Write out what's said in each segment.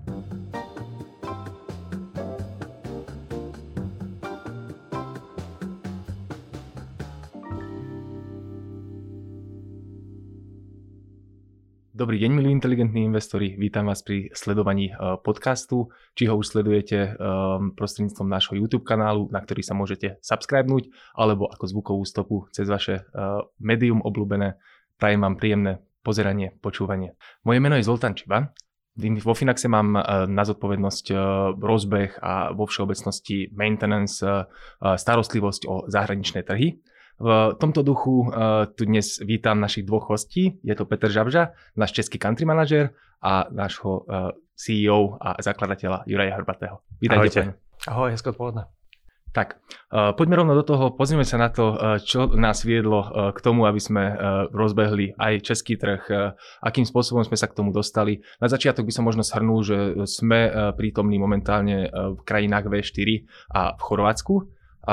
Dobrý deň, milí inteligentní investori. Vítam vás pri sledovaní podcastu, či ho už sledujete prostredníctvom nášho YouTube kanálu, na ktorý sa môžete subscribenúť, alebo ako zvukovú stopu cez vaše médium obľúbené. Prajem vám príjemné pozeranie, počúvanie. Moje meno je Zoltán Čiba. Vo Finaxe mám na zodpovednosť rozbeh a vo všeobecnosti maintenance, starostlivosť o zahraničné trhy. V tomto duchu tu dnes vítam našich dvoch hostí. Je to Petr Žabža, náš český country manažer a nášho CEO a zakladateľa Juraja Hrbatého. Vítajte. Ahoj, hezké odpoledne. Tak, poďme rovno do toho, pozrieme sa na to, čo nás viedlo k tomu, aby sme rozbehli aj český trh, akým spôsobom sme sa k tomu dostali. Na začiatok by som možno shrnul, že sme prítomní momentálne v krajinách V4 a v Chorvátsku.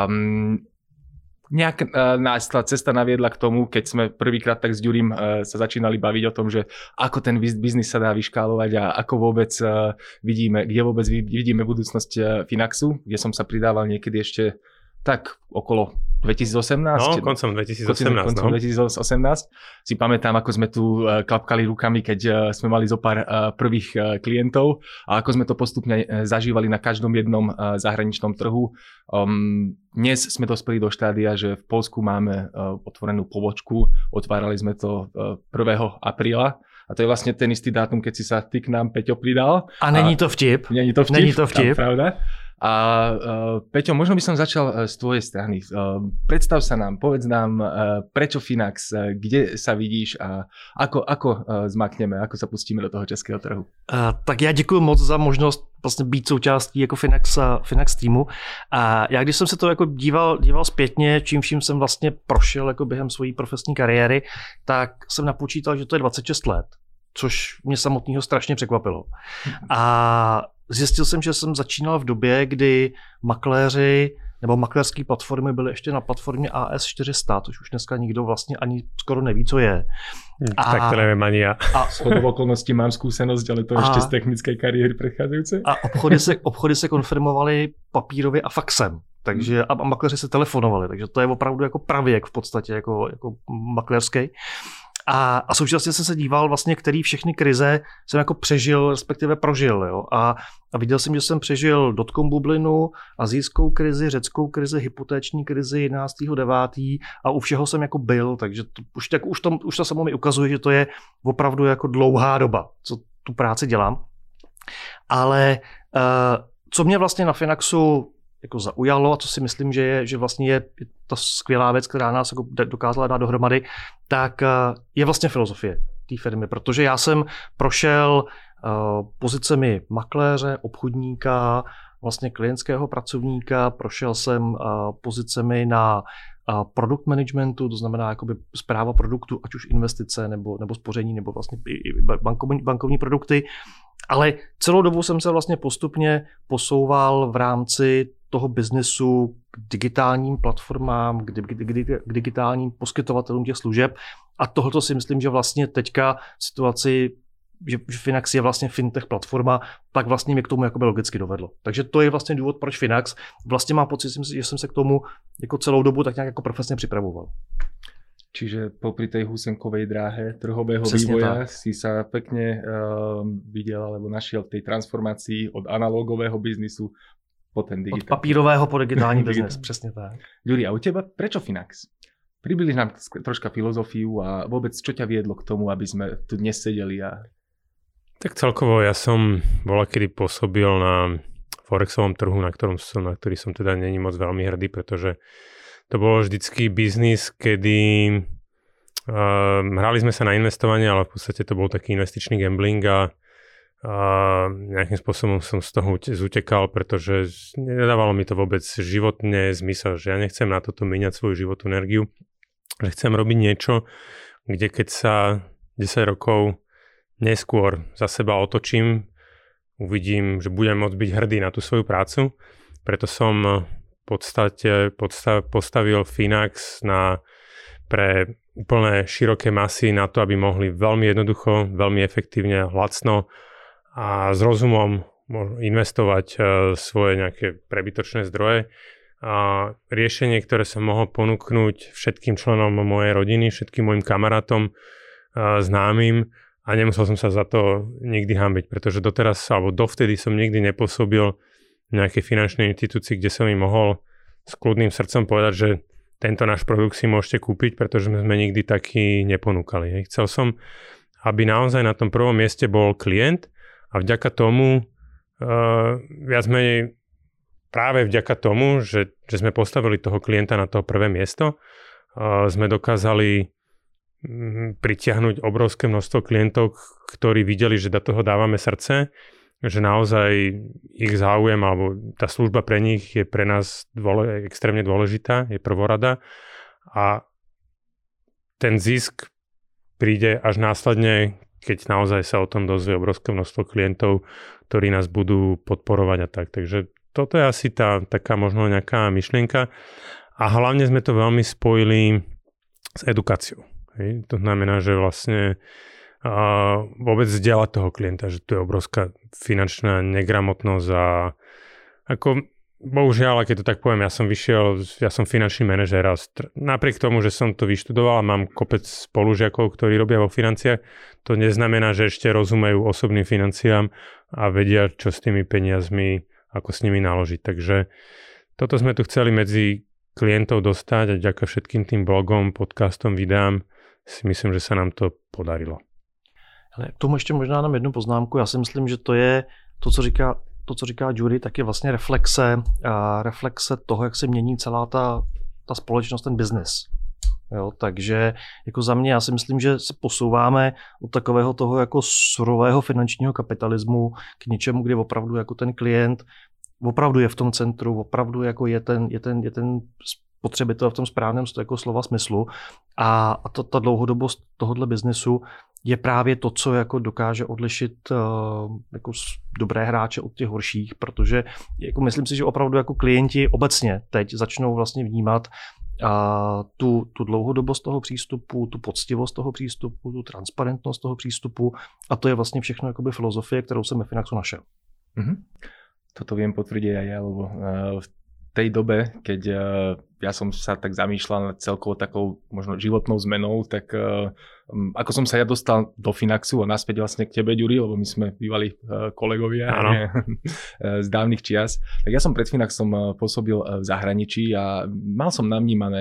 Nejak nás tá cesta naviedla k tomu, keď sme prvýkrát tak s Ďurim sa začínali baviť o tom, že ako ten biznis sa dá vyškálovať a ako vôbec vidíme, kde vôbec vidíme budúcnosť Finaxu, kde som sa pridával niekedy ešte tak okolo 2018. No, koncom 2018. Koncom 2018. Si pamätám, ako sme tu klapkali rukami, keď sme mali zo pár prvých klientov a ako sme to postupne zažívali na každom jednom zahraničnom trhu. Dnes sme dospeli do štádia, že v Poľsku máme otvorenú pobočku. Otvárali sme to 1. apríla. A to je vlastne ten istý dátum, keď si sa ty k nám, Peťo, pridal. A není to vtip. Není to vtip. Pravda. A Peťo, možno by som začal z tvojej strany. Predstav sa nám, povedz nám, prečo Finax, kde sa vidíš a ako zmakneme, ako sa pustíme do toho českého trhu. Tak já děkuji moc za možnost vlastně být součástí jako Finax týmu. A já když jsem se to jako díval zpětně, čím vším jsem vlastně prošel jako během své profesní kariéry, tak jsem napočítal, že to je 26 let, což mě samotného strašně překvapilo. A zjistil jsem, že jsem začínal v době, kdy makléři nebo makléřské platformy byly ještě na platformě AS400, což už dneska nikdo vlastně ani skoro neví, co je. Tak to nevím ani já. A shodou okolností mám zkušenost, ale to ještě z technické kariéry předcházející. A obchody se konfirmovaly papírově a faxem. Takže a makléři se telefonovali, takže to je opravdu jako pravěk v podstatě jako makléřský. A současně jsem se díval vlastně, který všechny krize jsem jako přežil, respektive prožil. Jo? A viděl jsem, že jsem přežil dotcom bublinu, asijskou krizi, řeckou krizi, hypotéční krizi 11.9. a u všeho jsem jako byl, takže už to samo mi ukazuje, že to je opravdu jako dlouhá doba, co tu práci dělám. Ale co mě vlastně na Finaxu jako zaujalo a co si myslím, že vlastně je ta skvělá věc, která nás jako dokázala dát dohromady, tak je vlastně filozofie té firmy, protože já jsem prošel pozicemi makléře, obchodníka, vlastně klientského pracovníka, prošel jsem pozicemi na product managementu, to znamená jakoby správa produktu, ať už investice nebo spoření, nebo vlastně i bankovní produkty. Ale celou dobu jsem se vlastně postupně posouval v rámci toho biznesu k digitálním platformám, k digitálním poskytovatelům těch služeb. A tohoto si myslím, že vlastně teďka v situaci, že Finax je vlastně fintech platforma, tak vlastně mě k tomu jakoby logicky dovedlo. Takže to je vlastně důvod, proč Finax. Vlastně mám pocit, že jsem se k tomu jako celou dobu tak nějak jako profesně připravoval. Čiže popri tej husenkovej dráhe trhového Přesně vývoja tak. si sa pekne videl alebo našiel v tej transformácii od analogového biznisu po ten digitálny. Od papírového po digitální biznes, přesně tak. Ďuri, a u teba prečo Finax? Približ nám troška filozofiu a vôbec čo ťa viedlo k tomu, aby sme tu dnes sedeli a... Tak celkovo ja som volakedy pôsobil na forexovom trhu, na ktorý som teda není moc veľmi hrdý, pretože to bolo vždycky biznis, kedy hrali sme sa na investovanie, ale v podstate to bol taký investičný gambling a nejakým spôsobom som z toho zutekal, pretože nedávalo mi to vôbec životne zmysel, že ja nechcem na toto míňať svoju životnú energiu, že chcem robiť niečo, kde keď sa 10 rokov neskôr za seba otočím, uvidím, že budem môcť byť hrdý na tú svoju prácu. Preto som v podstate postavil Finax pre úplne široké masy na to, aby mohli veľmi jednoducho, veľmi efektívne, lacno a s rozumom investovať svoje nejaké prebytočné zdroje. A riešenie, ktoré som mohol ponúknuť všetkým členom mojej rodiny, všetkým mojim kamarátom, známym, a nemusel som sa za to nikdy hanbiť, pretože doteraz alebo dovtedy som nikdy nepôsobil v nejakej finančnej inštitúcii, kde som im mohol s kľudným srdcom povedať, že tento náš produkt si môžete kúpiť, pretože sme nikdy taký neponúkali. Chcel som, aby naozaj na tom prvom mieste bol klient a vďaka tomu viac menej práve vďaka tomu, že sme postavili toho klienta na to prvé miesto, sme dokázali pritiahnuť obrovské množstvo klientov, ktorí videli, že do toho dávame srdce, že naozaj ich záujem alebo tá služba pre nich je pre nás extrémne dôležitá, je prvorada a ten zisk príde až následne, keď naozaj sa o tom dozvie obrovské množstvo klientov, ktorí nás budú podporovať a tak. Takže toto je asi taká možno nejaká myšlienka a hlavne sme to veľmi spojili s edukáciou. Hej. To znamená, že vlastne vôbec vzdielať toho klienta, že to je obrovská finančná negramotnosť a ako bohužiaľ, keď to tak poviem, ja som finančný manažér a napriek tomu, že som to vyštudoval a mám kopec spolužiakov, ktorí robia vo financiách, to neznamená, že ešte rozumejú osobným financiám a vedia, čo s tými peniazmi, ako s nimi naložiť. Takže toto sme tu chceli medzi klientov dostať a vďaka všetkým tým blogom, podcastom, videám si myslím, že sa nám to podarilo. Ale k tomu ještě možná nám jednu poznámku. Já si myslím, že to je to, co říká Judy, tak je vlastně reflexe toho, jak se mění celá ta společnost, ten biznis. Jo, takže jako za mě, já si myslím, že se posouváme od takového toho jako surového finančního kapitalismu k něčemu, kde opravdu jako ten klient opravdu je v tom centru, opravdu jako je ten spotřebitel v tom správném jako slova smyslu a ta dlouhodobost tohohle biznesu je právě to, co jako dokáže odlišit jako dobré hráče od těch horších, protože jako myslím si, že opravdu jako klienti obecně teď začnou vlastně vnímat tu dlouhodobost toho přístupu, tu poctivost toho přístupu, tu transparentnost toho přístupu a to je vlastně všechno jakoby filozofie, kterou jsem ve Finaxu našel. Mm-hmm. Toto viem potvrdiť aj ja, lebo v tej dobe, keď ja som sa tak zamýšľal nad celkovou takou možno životnou zmenou, tak ako som sa ja dostal do Finaxu a naspäť vlastne k tebe, Ďuri, lebo my sme bývali kolegovia z dávnych čias, tak ja som pred Finaxom pôsobil v zahraničí a mal som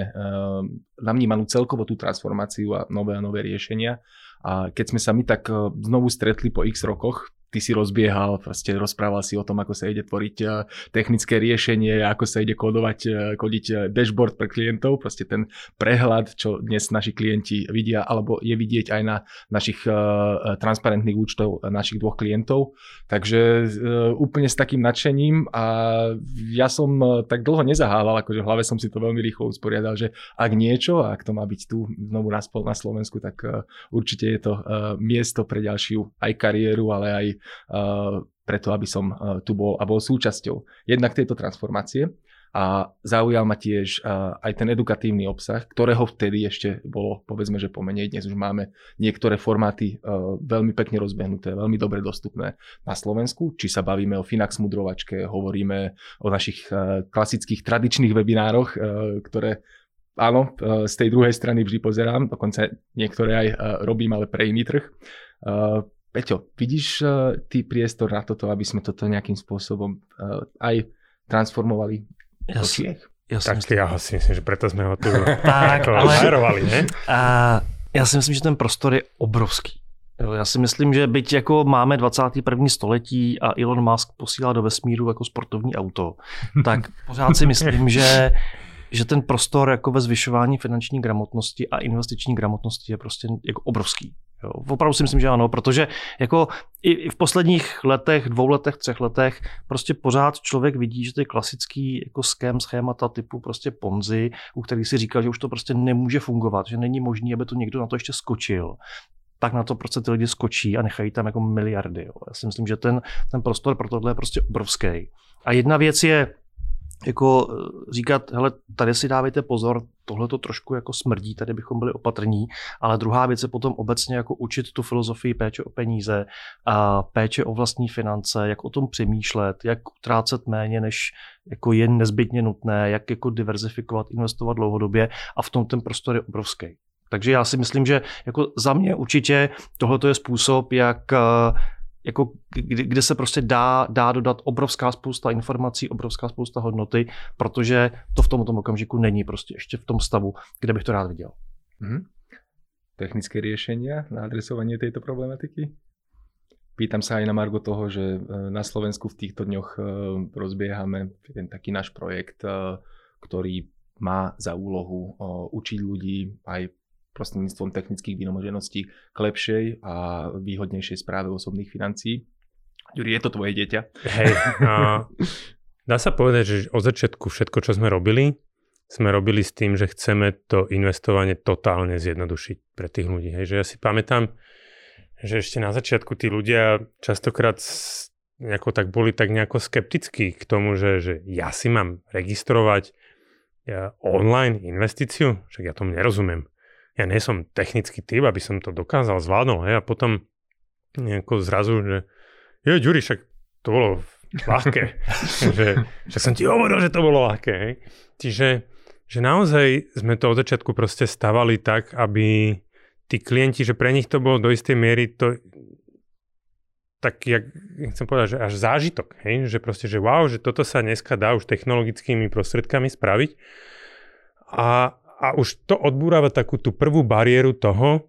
namnímanú celkovo tú transformáciu a nové riešenia. A keď sme sa my tak znovu stretli po x rokoch, ty si rozbiehal, proste rozprával si o tom, ako sa ide tvoriť technické riešenie, ako sa ide kodiť dashboard pre klientov, proste ten prehľad, čo dnes naši klienti vidia, alebo je vidieť aj na našich transparentných účtov našich dvoch klientov. Takže úplne s takým nadšením a ja som tak dlho nezahával, akože v hlave som si to veľmi rýchlo usporiadal, že ak niečo, ak to má byť tu znovu na Slovensku, tak určite je to miesto pre ďalšiu aj kariéru, ale aj preto, aby som tu bol a bol súčasťou jednak tejto transformácie a zaujal ma tiež aj ten edukatívny obsah, ktorého vtedy ešte bolo, povedzme, že pomenej. Dnes už máme niektoré formáty veľmi pekne rozbehnuté, veľmi dobre dostupné na Slovensku, či sa bavíme o Finax mudrovačke, hovoríme o našich klasických tradičných webinároch, ktoré áno, z tej druhej strany vždy pozerám, dokonca niektoré aj robím, ale pre iný trh. Peťo, vidíš ty priestor na toto, aby sme toto nejakým spôsobom aj transformovali do Čiech? Ja si myslím, že preto sme ho tu hajrovali, ne? Já si myslím, že ten prostor je obrovský. Já si myslím, že byť jako máme 21. století a Elon Musk posílá do vesmíru jako sportovní auto, tak pořád si myslím, že ten prostor jako ve zvyšování finanční gramotnosti a investiční gramotnosti je prostě jako obrovský. Jo, opravdu si myslím, že ano, protože jako i v posledních letech, 2 letech, 3 letech prostě pořád člověk vidí, že ty klasický jako schémata typu prostě Ponzi, u kterých si říkal, že už to prostě nemůže fungovat, že není možný, aby to někdo na to ještě skočil, tak na to prostě ty lidi skočí a nechají tam jako miliardy. Jo. Já si myslím, že ten prostor pro tohle je prostě obrovský. A jedna věc je jako říkat, hele, tady si dávejte pozor, tohle to trošku jako smrdí, tady bychom byli opatrní, ale druhá věc je potom obecně jako učit tu filozofii péče o peníze, a péče o vlastní finance, jak o tom přemýšlet, jak utrácet méně, než jako je nezbytně nutné, jak jako diverzifikovat, investovat dlouhodobě a v tom ten prostor je obrovský. Takže já si myslím, že jako za mě určitě tohle je způsob, jak jako kde se prostě dá dodat obrovská spousta informací, obrovská spousta hodnoty, protože to v tomto okamžiku není prostě ještě v tom stavu, kde bych to rád viděl. Technické riešenia na adresovanie tejto problematiky? Pýtam sa aj na margo toho, že na Slovensku v týchto dňoch rozbiehame ten taký náš projekt, ktorý má za úlohu učiť ľudí aj prostredníctvom technických vymožeností k lepšej a výhodnejšej správe osobných financií. Ďuri, je to tvoje dieťa? Hej, dá sa povedať, že od začiatku všetko, čo sme robili s tým, že chceme to investovanie totálne zjednodušiť pre tých ľudí. Hej, že ja si pamätám, že ešte na začiatku tí ľudia častokrát boli tak nejako skeptickí k tomu, že ja si mám registrovať online investíciu, však ja tomu nerozumiem. Ja nie som technický typ, aby som to dokázal zvládnuť, hej, a potom nejako zrazu, že Ďuri, však to bolo ľahké. Však som ti hovoril, že to bolo ľahké. Hej. Čiže že naozaj sme to od začiatku proste stavali tak, aby tí klienti, že pre nich to bolo do istej miery to tak, jak chcem povedať, že až zážitok. Hej? Že proste, že wow, že toto sa dneska dá už technologickými prostredkami spraviť. A už to odbúrava takú tú prvú bariéru toho,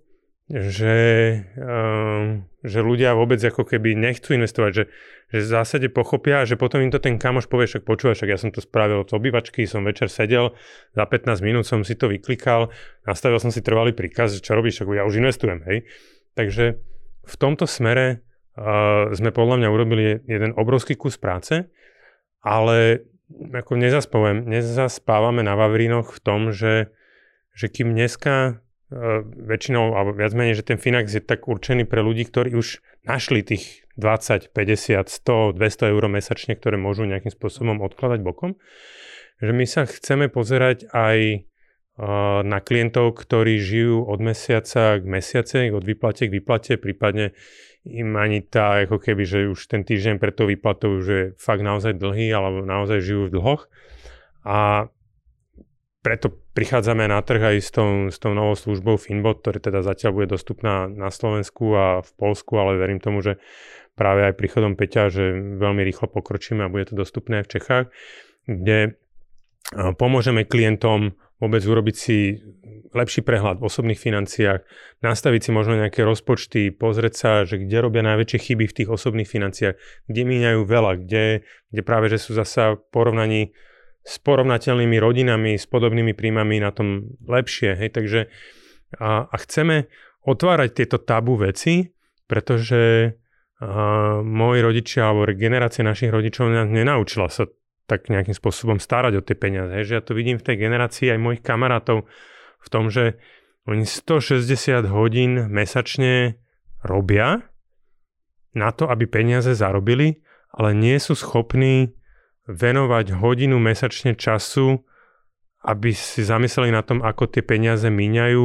že ľudia vôbec ako keby nechcú investovať, že v zásade pochopia, že potom im to ten kamoš povie, však počúvaj, však ja som to spravil od obývačky, som večer sedel, za 15 minút som si to vyklikal, nastavil som si trvalý príkaz, že čo robíš, však ja už investujem, hej. Takže v tomto smere sme podľa mňa urobili jeden obrovský kus práce, ale ako nezaspávame na Vavrínoch v tom, že kým dneska väčšinou, alebo viac menej, že ten Finax je tak určený pre ľudí, ktorí už našli tých 20, 50, 100, 200 eur mesačne, ktoré môžu nejakým spôsobom odkladať bokom, že my sa chceme pozerať aj na klientov, ktorí žijú od mesiaca k mesiace, od výplate k výplate, prípadne im ani tá, ako keby, že už ten týždeň pred tou výplatou už je fakt naozaj dlhý, alebo naozaj žijú v dlhoch. A preto prichádzame na trh aj s tou novou službou Finbot, ktorá teda zatiaľ bude dostupná na Slovensku a v Poľsku, ale verím tomu, že práve aj príchodom Peťa, že veľmi rýchlo pokročíme a bude to dostupné aj v Čechách, kde pomôžeme klientom vôbec urobiť si lepší prehľad v osobných financiách, nastaviť si možno nejaké rozpočty, pozrieť sa, že kde robia najväčšie chyby v tých osobných financiách, kde míňajú veľa, kde práve, že sú zasa v porovnaní s porovnateľnými rodinami, s podobnými príjmami na tom lepšie. Hej? Takže a chceme otvárať tieto tabu veci, pretože moji rodičia alebo generácia našich rodičov nás nenaučila sa tak nejakým spôsobom starať o tie peniaze. Hej? Že ja to vidím v tej generácii aj mojich kamarátov v tom, že oni 160 hodín mesačne robia na to, aby peniaze zarobili, ale nie sú schopní venovať hodinu mesačne času, aby si zamysleli na tom, ako tie peniaze míňajú.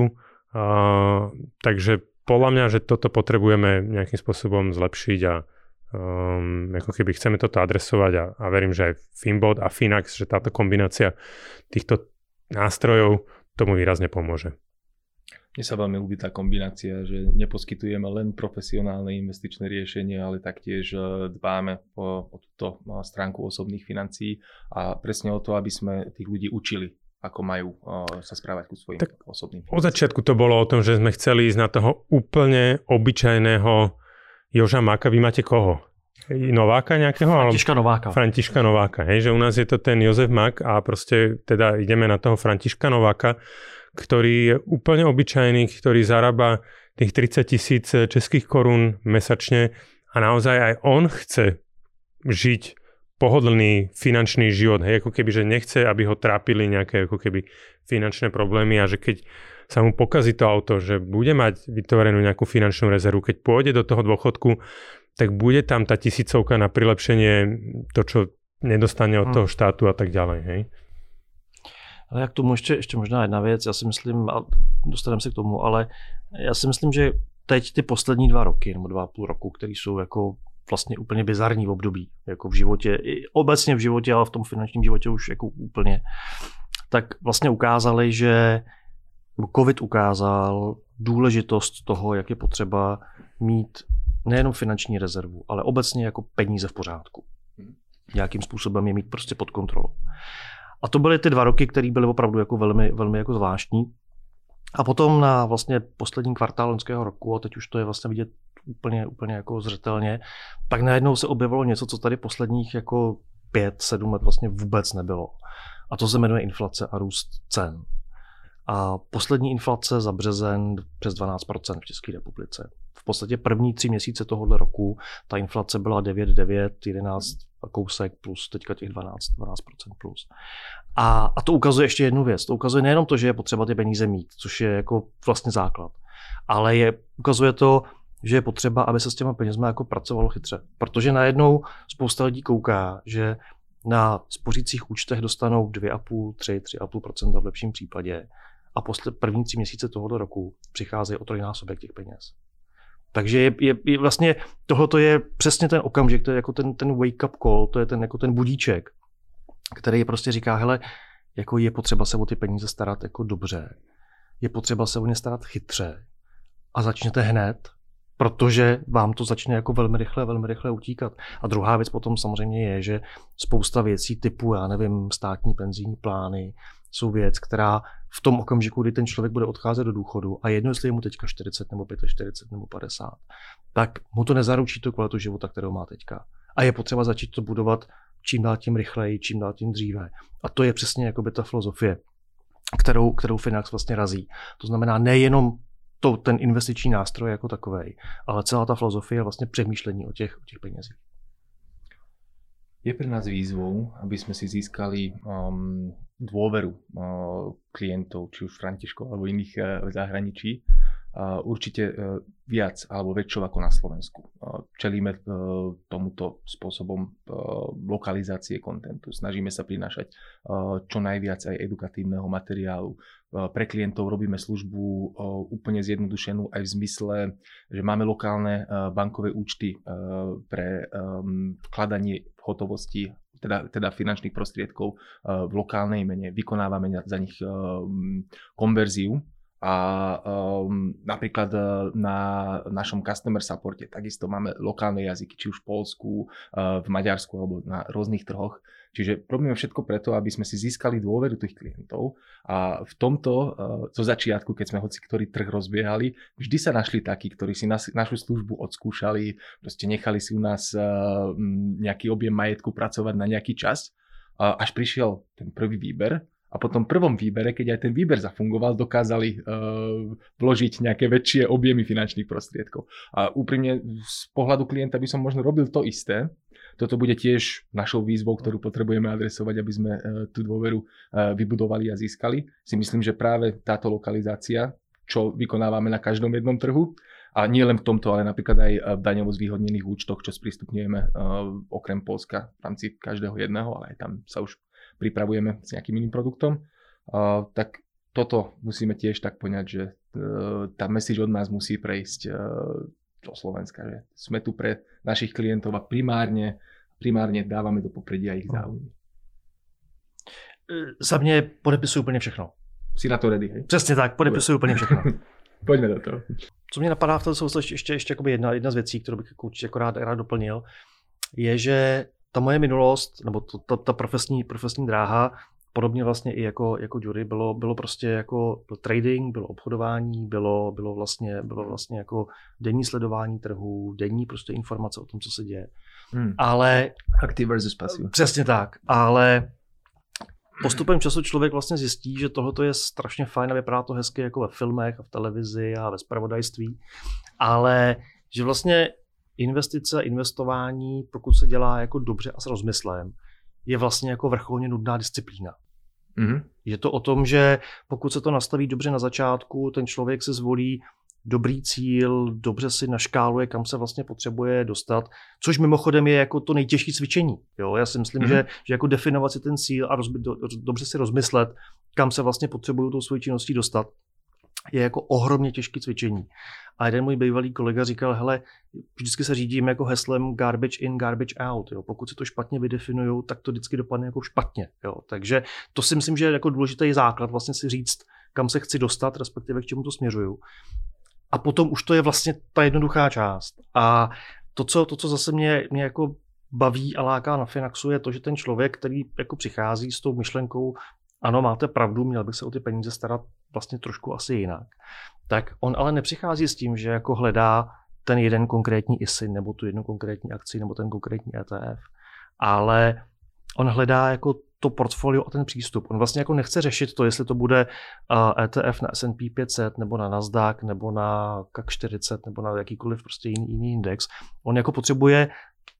Takže podľa mňa, že toto potrebujeme nejakým spôsobom zlepšiť a ako keby chceme toto adresovať a verím, že aj Finbot a Finax, že táto kombinácia týchto nástrojov tomu výrazne pomôže. Mne sa veľmi ľúbi tá kombinácia, že neposkytujeme len profesionálne investičné riešenie, ale taktiež dbáme o túto stránku osobných financií a presne o to, aby sme tých ľudí učili, ako majú sa správať ku svojim osobným financiám. Od začiatku to bolo o tom, že sme chceli ísť na toho úplne obyčajného Joža Maka. Vy máte koho? Nováka nejakého? Františka Nováka. Hej, že u nás je to ten Jozef Mak a proste teda ideme na toho Františka Nováka, ktorý je úplne obyčajný, ktorý zarába tých 30 000 českých korún mesačne a naozaj aj on chce žiť pohodlný finančný život. Hej, ako keby, že nechce, aby ho trápili nejaké ako keby finančné problémy a že keď sa mu pokazí to auto, že bude mať vytvorenú nejakú finančnú rezervu, keď pôjde do toho dôchodku, tak bude tam tá 1000 na prilepšenie, to, čo nedostane od toho štátu a tak ďalej. Hej? Ale jak tomu ještě možná jedna věc, já si myslím, a dostaneme se k tomu, ale já si myslím, že teď ty poslední 2 roky nebo 2,5 roku, které jsou jako vlastně úplně bizarní v období, jako v životě, obecně v životě, ale v tom finančním životě už jako úplně, tak vlastně ukázali, že COVID ukázal důležitost toho, jak je potřeba mít nejenom finanční rezervu, ale obecně jako peníze v pořádku. Nějakým způsobem je mít prostě pod kontrolou. A to byly ty 2 roky, které byly opravdu jako velmi, velmi jako zvláštní. A potom na vlastně poslední kvartál loňského roku, a teď už to je vlastně vidět úplně jako zřetelně, tak najednou se objevilo něco, co tady posledních jako 5-7 let vlastně vůbec nebylo. A to se jmenuje inflace a růst cen. A poslední inflace za březen přes 12% v České republice. V podstatě první 3 měsíce tohoto roku ta inflace byla 9,9, 11 a kousek plus teďka těch 12% plus. A to ukazuje ještě jednu věc. To ukazuje nejenom to, že je potřeba ty peníze mít, což je jako vlastně základ, ale ukazuje to, že je potřeba, aby se s těma penězma jako pracovalo chytře. Protože najednou spousta lidí kouká, že na spořících účtech dostanou 2,5, 3,5% v lepším případě a první 3 měsíce tohoto roku přicházejí o 3násobek těch peněz. Takže je vlastně tohle je přesně ten okamžik, to je jako ten wake up call, to je ten budíček, který prostě říká, hele, jako je potřeba se o ty peníze starat jako dobře, je potřeba se o ně starat chytře a začněte hned, protože vám to začne jako velmi rychle utíkat. A druhá věc potom samozřejmě je, že spousta věcí typu, já nevím, státní penzijní plány jsou věc, která v tom okamžiku, kdy ten člověk bude odcházet do důchodu a jedno, jestli je mu teďka 40 nebo 45 nebo 50, tak mu to nezaručí tu kvalitu života, kterou má teďka. A je potřeba začít to budovat čím dál tím rychleji, čím dál tím dříve. A to je přesně jakoby ta filozofie, kterou Finax vlastně razí. To znamená nejenom ten investiční nástroj jako takovej, ale celá ta filozofie je vlastně přemýšlení o těch penězích. Je pre nás výzvou, aby sme si získali dôveru klientov, či už Františkov alebo iných v zahraničí, určite viac alebo väčšou ako na Slovensku. Čelíme tomuto spôsobom lokalizácie kontentu. Snažíme sa prinášať čo najviac aj edukatívneho materiálu. Pre klientov robíme službu úplne zjednodušenú aj v zmysle, že máme lokálne bankové účty pre vkladanie hotovosti, teda finančných prostriedkov v lokálnej mene. Vykonávame za nich konverziu. A napríklad na našom customer supporte takisto máme lokálne jazyky, či už v Poľsku, v Maďarsku alebo na rôznych trhoch. Čiže robíme všetko preto, aby sme si získali dôveru tých klientov a v tomto zo začiatku, keď sme hoci ktorý trh rozbiehali, vždy sa našli takí, ktorí si našu službu odskúšali, proste nechali si u nás nejaký objem majetku pracovať na nejaký čas, až prišiel ten prvý výber. A po tom prvom výbere, keď aj ten výber zafungoval, dokázali vložiť nejaké väčšie objemy finančných prostriedkov. A úprimne z pohľadu klienta by som možno robil to isté. Toto bude tiež našou výzvou, ktorú potrebujeme adresovať, aby sme tú dôveru vybudovali a získali. Si myslím, že práve táto lokalizácia, čo vykonávame na každom jednom trhu, a nie len v tomto, ale napríklad aj v daňovo zvýhodnených účtoch, čo sprístupňujeme okrem Poľska v rámci každého jedného, ale aj tam sa už pripravujeme s nejakým iným produktom, tak toto musíme tiež tak poňať, že tá message od nás musí prejsť do Slovenska, že sme tu pre našich klientov a primárne dávame do popredia ich záujmy. Za mě podepisuju úplně všechno. Si na to ready, hej? Přesně tak, podepisuju úplně všechno. Pojďme do toho. Co mě napadá v tom souvislosti ještě jedna z věcí, kterou bych určitě rád doplnil, je, že ta moje minulost, nebo ta profesní dráha, podobně vlastně i jako jury, bylo prostě jako trading, bylo obchodování, bylo vlastně jako denní sledování trhu, denní prostě informace o tom, co se děje. Ale active versus passive. Přesně tak, ale postupem času člověk vlastně zjistí, že tohle je strašně fajn a vypadá to hezky jako ve filmech a v televizi a ve zpravodajství, ale že vlastně investice, investování, pokud se dělá jako dobře a s rozmyslem, je vlastně jako vrcholně nudná disciplína. Je to o tom, že pokud se to nastaví dobře na začátku, ten člověk se zvolí dobrý cíl, dobře si naškáluje, kam se vlastně potřebuje dostat, což mimochodem je jako to nejtěžší cvičení. Jo? Já si myslím, že jako definovat si ten cíl a dobře si rozmyslet, kam se vlastně potřebují tou svojí činností dostat, je jako ohromně těžké cvičení. A jeden můj bývalý kolega říkal, hele, vždycky se řídím jako heslem garbage in, garbage out. Jo. Pokud se to špatně vydefinujou, tak to vždycky dopadne jako špatně. Jo. Takže to si myslím, že je jako důležitý základ vlastně si říct, kam se chci dostat, respektive k čemu to směřuju. A potom už to je vlastně ta jednoduchá část. A to, co zase mě jako baví a láká na Finaxu, je to, že ten člověk, který jako přichází s tou myšlenkou, ano, máte pravdu, měl bych se o ty peníze starat vlastně trošku asi jinak. Tak on ale nepřichází s tím, že jako hledá ten jeden konkrétní ISIN, nebo tu jednu konkrétní akci, nebo ten konkrétní ETF, ale on hledá jako to portfolio a ten přístup. On vlastně jako nechce řešit to, jestli to bude ETF na S&P 500, nebo na Nasdaq, nebo na CAC 40, nebo na jakýkoliv prostě jiný index. On jako potřebuje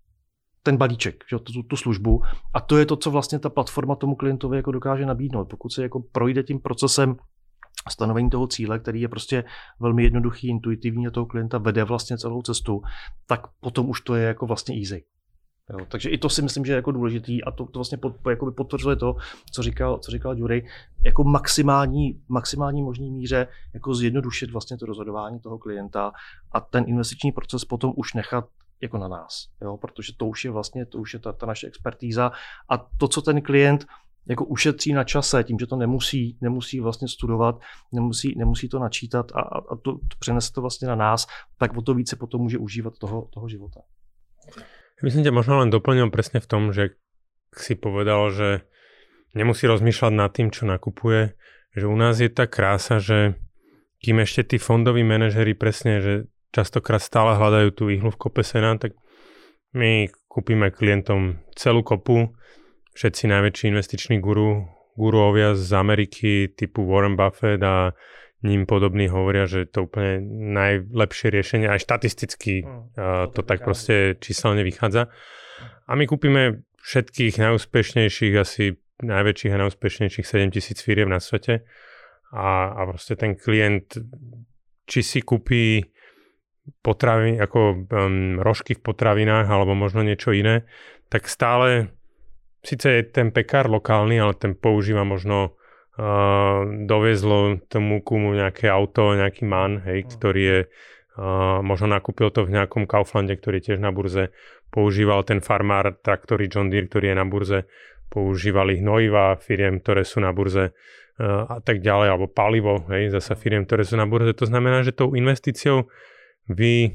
ten balíček, tu službu, a to je to, co vlastně ta platforma tomu klientovi jako dokáže nabídnout. Pokud se jako projde tím procesem stanovení toho cíle, který je prostě velmi jednoduchý, intuitivní a toho klienta vede vlastně celou cestu, tak potom už to je jako vlastně easy. Jo, takže i to si myslím, že je jako důležitý a to vlastně potvrzuje to, co říkal Jury, jako maximální možný míře jako zjednodušit vlastně to rozhodování toho klienta a ten investiční proces potom už nechat jako na nás, jo, protože to už je ta naše expertíza a to, co ten klient jako ušetří na čase, tím, že to nemusí vlastně studovat, nemusí to načítat a to přenese to vlastně na nás, tak o to více potom může užívat toho života. Ja by som ťa možno len doplnil presne v tom, že si povedal, že nemusí rozmýšľať nad tým, čo nakupuje, že u nás je tá krása, že kým ešte tí fondoví manažeri presne, že častokrát stále hľadajú tú ihlu v kope sena, tak my kúpime klientom celú kopu, všetci najväčší investiční guruovia z Ameriky typu Warren Buffett a ním podobní hovoria, že to úplne najlepšie riešenie, aj štatisticky to tak proste číselne vychádza. A my kúpime všetkých najúspešnejších, asi najväčších a najúspešnejších 7,000 firiem na svete a proste ten klient, či si kúpi potraviny, ako rožky v potravinách alebo možno niečo iné, tak stále síce je ten pekár lokálny, ale ten používa možno doviezlo tomu kumu nejaké auto, nejaký MAN, hej, ktorý je, možno nakúpil to v nejakom Kauflande, ktorý je tiež na burze, používal ten farmár traktory John Deere, ktorý je na burze, používali hnojiva firiem, ktoré sú na burze a tak ďalej, alebo palivo, hej, zasa firiem, ktoré sú na burze. To znamená, že tou investíciou vy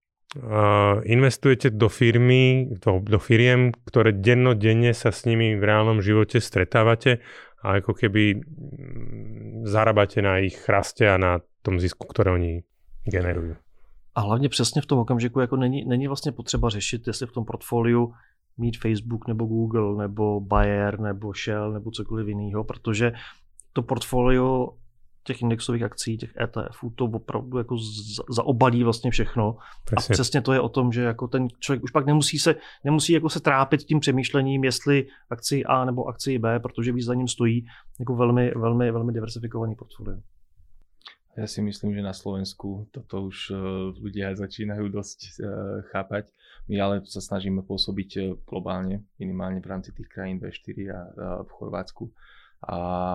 investujete do firmy, do firiem, ktoré dennodenne sa s nimi v reálnom živote stretávate a ako keby zarábate na ich raste a na tom zisku, ktoré oni generujú. A hlavně přesně v tom okamžiku jako není vlastně potřeba řešit, jestli v tom portfoliu mít Facebook nebo Google nebo Bayer nebo Shell nebo cokoliv jiného, protože to portfolio těch indexových akcí, těch ETFů, to opravdu jako zaobalí vlastně všechno. Přesně. A přesně to je o tom, že jako ten člověk už pak nemusí jako se trápit tím přemýšlením, jestli akci A nebo akci B, protože víc za ním stojí jako velmi, velmi, velmi diversifikovaný portfolio. Ja si myslím, že na Slovensku toto už ľudia začínajú dosť chápať. My ale sa snažíme pôsobiť globálne, minimálne v rámci tých krajín V4 a v Chorvátsku. A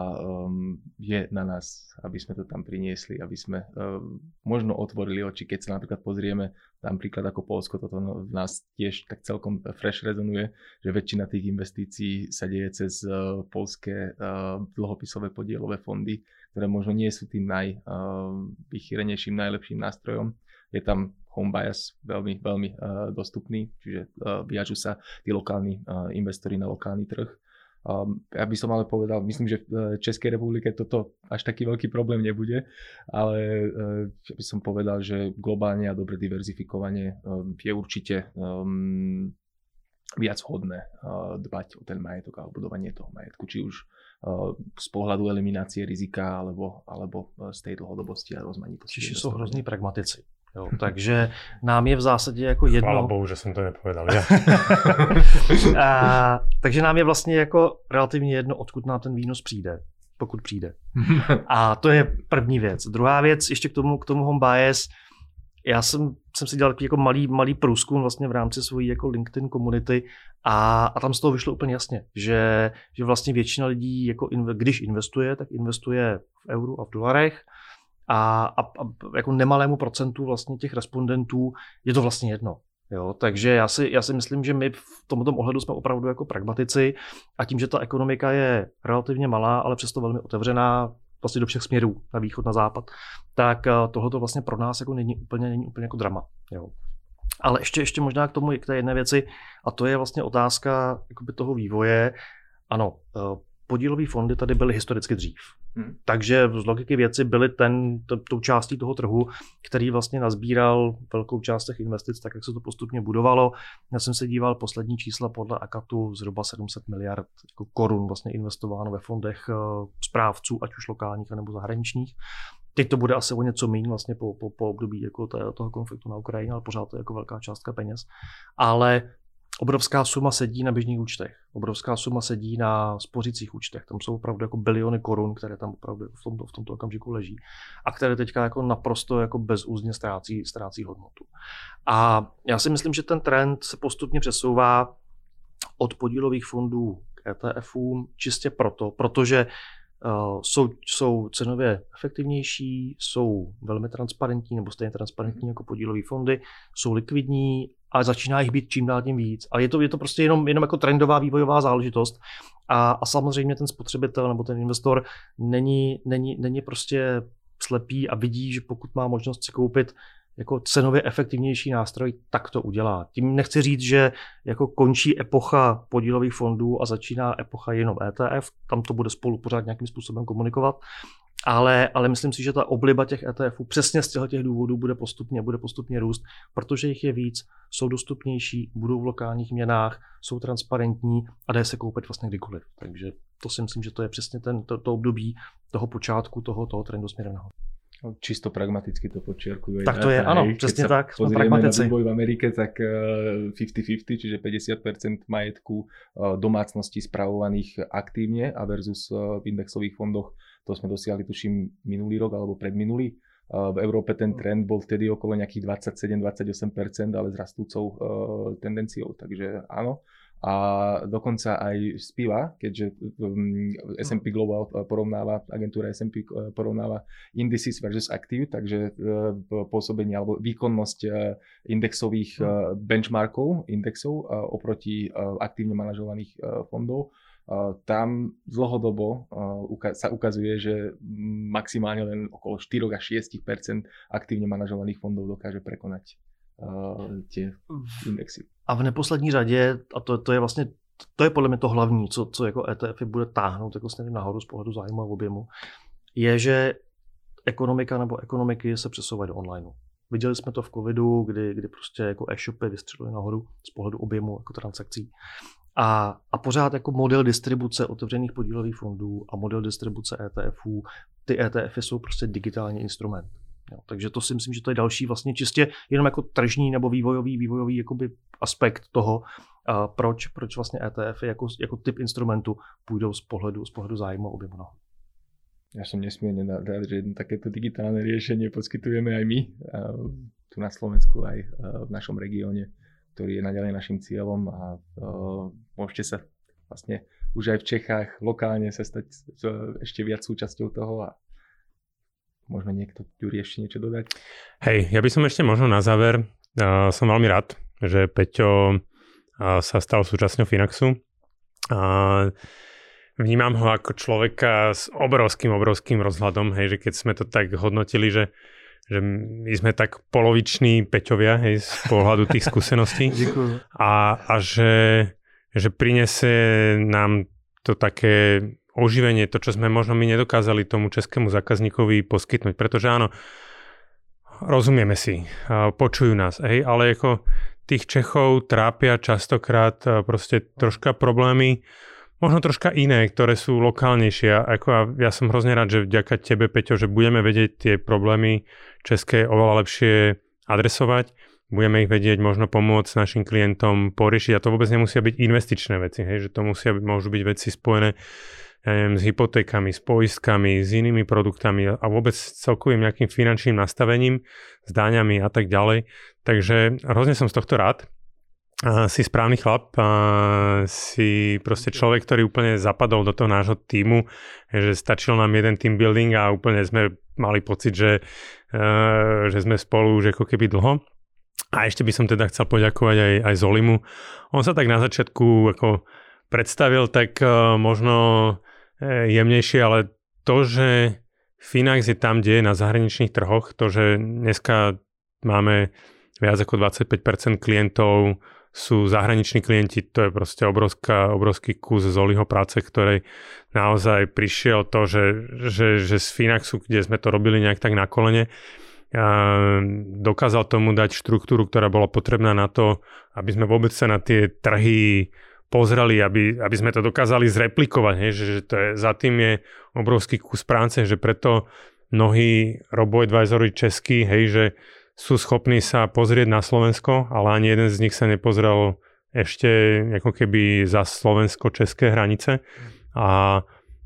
je na nás, aby sme to tam priniesli, aby sme možno otvorili oči, keď sa napríklad pozrieme napríklad ako Poľsko, toto v nás tiež tak celkom fresh rezonuje, že väčšina tých investícií sa deje cez poľské dlhopisové podielové fondy, ktoré možno nie sú tým najvychýrenejším, najlepším nástrojom. Je tam home bias veľmi, veľmi dostupný, čiže viažu sa tí lokálni investori na lokálny trh. Ja by som ale povedal, myslím, že v Českej republike toto až taký veľký problém nebude, ale by som povedal, že globálne a dobre diverzifikovanie je určite viac vhodné dbať o ten majetok a budovanie toho majetku, či už z pohľadu eliminácie rizika alebo z tej dlhodobosti a rozmanitosti. Čiže sú hrozní pragmatici. Jo, takže nám je v zásadě jako jedno... Chvála Bohu, že jsem to nepovedal. Takže nám je vlastně jako relativně jedno, odkud nám ten výnos přijde. pokud přijde. A to je první věc. Druhá věc, ještě k tomu home bias. Já jsem si dělal jako malý průzkum vlastně v rámci svojí jako LinkedIn komunity a tam z toho vyšlo úplně jasně, že vlastně většina lidí, jako když investuje, tak investuje v euru a v dolarech a jako nemalému procentu vlastně těch respondentů je to vlastně jedno. Jo, takže já si myslím, že my v tomto ohledu jsme opravdu jako pragmatici a tím, že ta ekonomika je relativně malá, ale přesto velmi otevřená vlastně do všech směrů, na východ, na západ, tak tohleto vlastně pro nás jako není úplně jako drama. Jo. Ale ještě možná k té jedné věci, a to je vlastně otázka jakoby toho vývoje. Ano, podílové fondy tady byly historicky dřív. Takže z logiky věci byly tou částí toho trhu, který vlastně nazbíral velkou část těch investic, tak jak se to postupně budovalo. Já jsem se díval poslední čísla podle Akatu, zhruba 700 miliard jako korun vlastně investováno ve fondech správců, ať už lokálních nebo zahraničních. Teď to bude asi o něco méně vlastně po období jako toho konfliktu na Ukrajině, ale pořád to je jako velká částka peněz. Ale obrovská suma sedí na běžných účtech, obrovská suma sedí na spořících účtech. Tam jsou opravdu jako biliony korun, které tam opravdu v tomto okamžiku leží a které teďka jako naprosto jako bezúzně ztrácí hodnotu. A já si myslím, že ten trend se postupně přesouvá od podílových fondů k ETFům čistě protože jsou cenově efektivnější, jsou velmi transparentní nebo stejně transparentní jako podílové fondy, jsou likvidní a začíná jich být čím dál tím víc. Ale je to prostě jenom jako trendová vývojová záležitost a samozřejmě ten spotřebitel nebo ten investor není prostě slepý a vidí, že pokud má možnost si koupit jako cenově efektivnější nástroj, tak to udělá. Tím nechci říct, že jako končí epocha podílových fondů a začíná epocha jenom ETF, tam to bude spolu pořád nějakým způsobem komunikovat, ale myslím si, že ta obliba těch ETFů přesně z těch důvodů bude postupně růst, protože jich je víc, jsou dostupnější, budou v lokálních měnách, jsou transparentní a dá se koupit vlastně kdykoliv. Takže to si myslím, že to je přesně to období toho počátku toho trendu směrem nahoru. Čisto pragmaticky to podčiarkujú. Tak to je, áno, presne tak, sme pragmatici. Na vývoj v Amerike, tak 50-50, čiže 50% majetku domácností spravovaných aktívne a versus v indexových fondoch, to sme dosiahli tuším minulý rok alebo predminulý. V Európe ten trend bol vtedy okolo nejakých 27-28%, ale s rastúcou tendenciou, takže áno. A dokonca aj spíva, keďže S&P Global porovnáva, agentúra S&P porovnáva indices versus active, takže pôsobenie alebo výkonnosť indexových benchmarkov, indexov oproti aktívne manažovaných fondov, tam dlhodobo sa ukazuje, že maximálne len okolo 4 až 6% aktívne manažovaných fondov dokáže prekonať tie indexy. A v neposlední řadě, a to je vlastně, to je podle mě to hlavní, co jako ETFy bude táhnout jako směrem nahoru z pohledu zájmu a objemu, je, že ekonomika nebo ekonomiky se přesouvají do online. Viděli jsme to v covidu, kdy prostě jako e-shopy vystřelily nahoru z pohledu objemu jako transakcí. A pořád jako model distribuce otevřených podílových fondů a model distribuce ETFů, ty ETFy jsou prostě digitální instrument. Jo, takže to si myslím, že to je další vlastně čistě jenom jako tržní nebo vývojový jakoby aspekt toho, proč vlastně ETFy jako typ instrumentu půjdou z pohledu zájmu a objemu nahoru. Ja som nesmierne rád, že jedno takéto digitálne riešenie poskytujeme aj my tu na Slovensku, aj v našom regióne, ktorý je naďalej našim cieľom a môžete sa vlastne už aj v Čechách lokálne sa stať ešte viac súčasťou toho a môžeme niekto, Ďuri, ešte niečo dodať? Hej, ja by som ešte možno na záver, som veľmi rád, že Peťo sa stal súčasťou Finaxu. Vnímam ho ako človeka s obrovským rozhľadom, hej, že keď sme to tak hodnotili, že my sme tak poloviční Peťovia, hej, z pohľadu tých skúseností. a že prinesie nám to také oživenie, to, čo sme možno my nedokázali tomu českému zákazníkovi poskytnúť. Pretože áno, rozumieme si, počujú nás, hej, ale ako tých Čechov trápia častokrát proste troška problémy, možno troška iné, ktoré sú lokálnejšie. Ja som hrozne rád, že vďaka tebe, Peťo, že budeme vedieť tie problémy české oveľa lepšie adresovať. budeme ich vedieť možno pomôcť našim klientom poriešiť, a to vôbec nemusia byť investičné veci, hej, že to môžu byť veci spojené, ja neviem, s hypotékami, s poistkami, s inými produktami a vôbec celkovým nejakým finančným nastavením, s daňami a tak ďalej. Takže hrozne som z tohto rád. Si správny chlap, si proste človek, ktorý úplne zapadol do toho nášho tímu, že stačil nám jeden team building a úplne sme mali pocit, že sme spolu už ako keby dlho. A ešte by som teda chcel poďakovať aj Zolimu. On sa tak na začiatku ako predstavil tak možno jemnejšie, ale to, že Finax je tam, kde je na zahraničných trhoch, to, že dneska máme viac ako 25% klientov sú zahraniční klienti, to je proste obrovský kus Zoliho práce, ktorej naozaj prišiel to, že z Finaxu, kde sme to robili nejak tak na kolene, dokázal tomu dať štruktúru, ktorá bola potrebná na to, aby sme vôbec sa na tie trhy pozreli, aby sme to dokázali zreplikovať, hej, že to je, za tým je obrovský kus práce, že preto mnohí robo-advisory českí, hej, že sú schopní sa pozrieť na Slovensko, ale ani jeden z nich sa nepozrel ešte ako keby za slovensko-české hranice a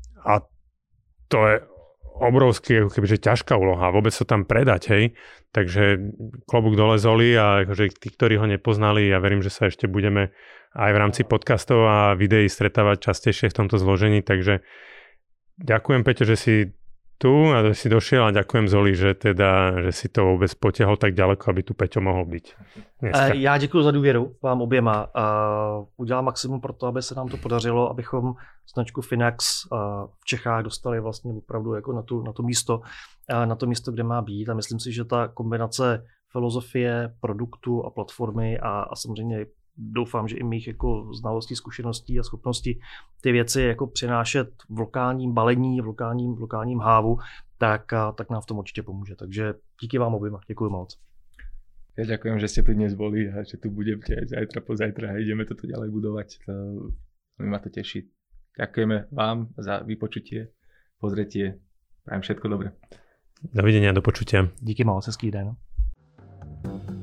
to je obrovský, ako keby, že ťažká úloha, vôbec to tam predať, hej. Takže klobúk dole Zoli a akože tí, ktorí ho nepoznali, ja verím, že sa ešte budeme aj v rámci podcastov a videí stretávať častejšie v tomto zložení, takže ďakujem, Peťo, že si tu a že si došiel a ďakujem Zoli, že si to vůbec potiahol tak ďaleko, aby tu Peťo mohl být dneska. Já děkuji za důvěru vám oběma. Udělám maximum pro to, aby se nám to podařilo, abychom značku Finax v Čechách dostali vlastně opravdu jako na to místo, kde má být, a myslím si, že ta kombinace filozofie, produktu a platformy a samozřejmě doufám, že i mých jako znalostí, zkušeností a schopností ty věci jako přinášet v lokálním balení, v lokálním hávu, tak nám v tom určitě pomůže. Takže díky vám oběma, děkuji moc. Ja ďakujem, že ste tu dnes boli a že tu budete aj zajtra, pozajtra a ideme toto ďalej budovať. Ma to teší. Ďakujeme vám za vypočutie, pozretie. Prajem všetko dobré. Dovidenia, do počutia. Díky moc, hezký den.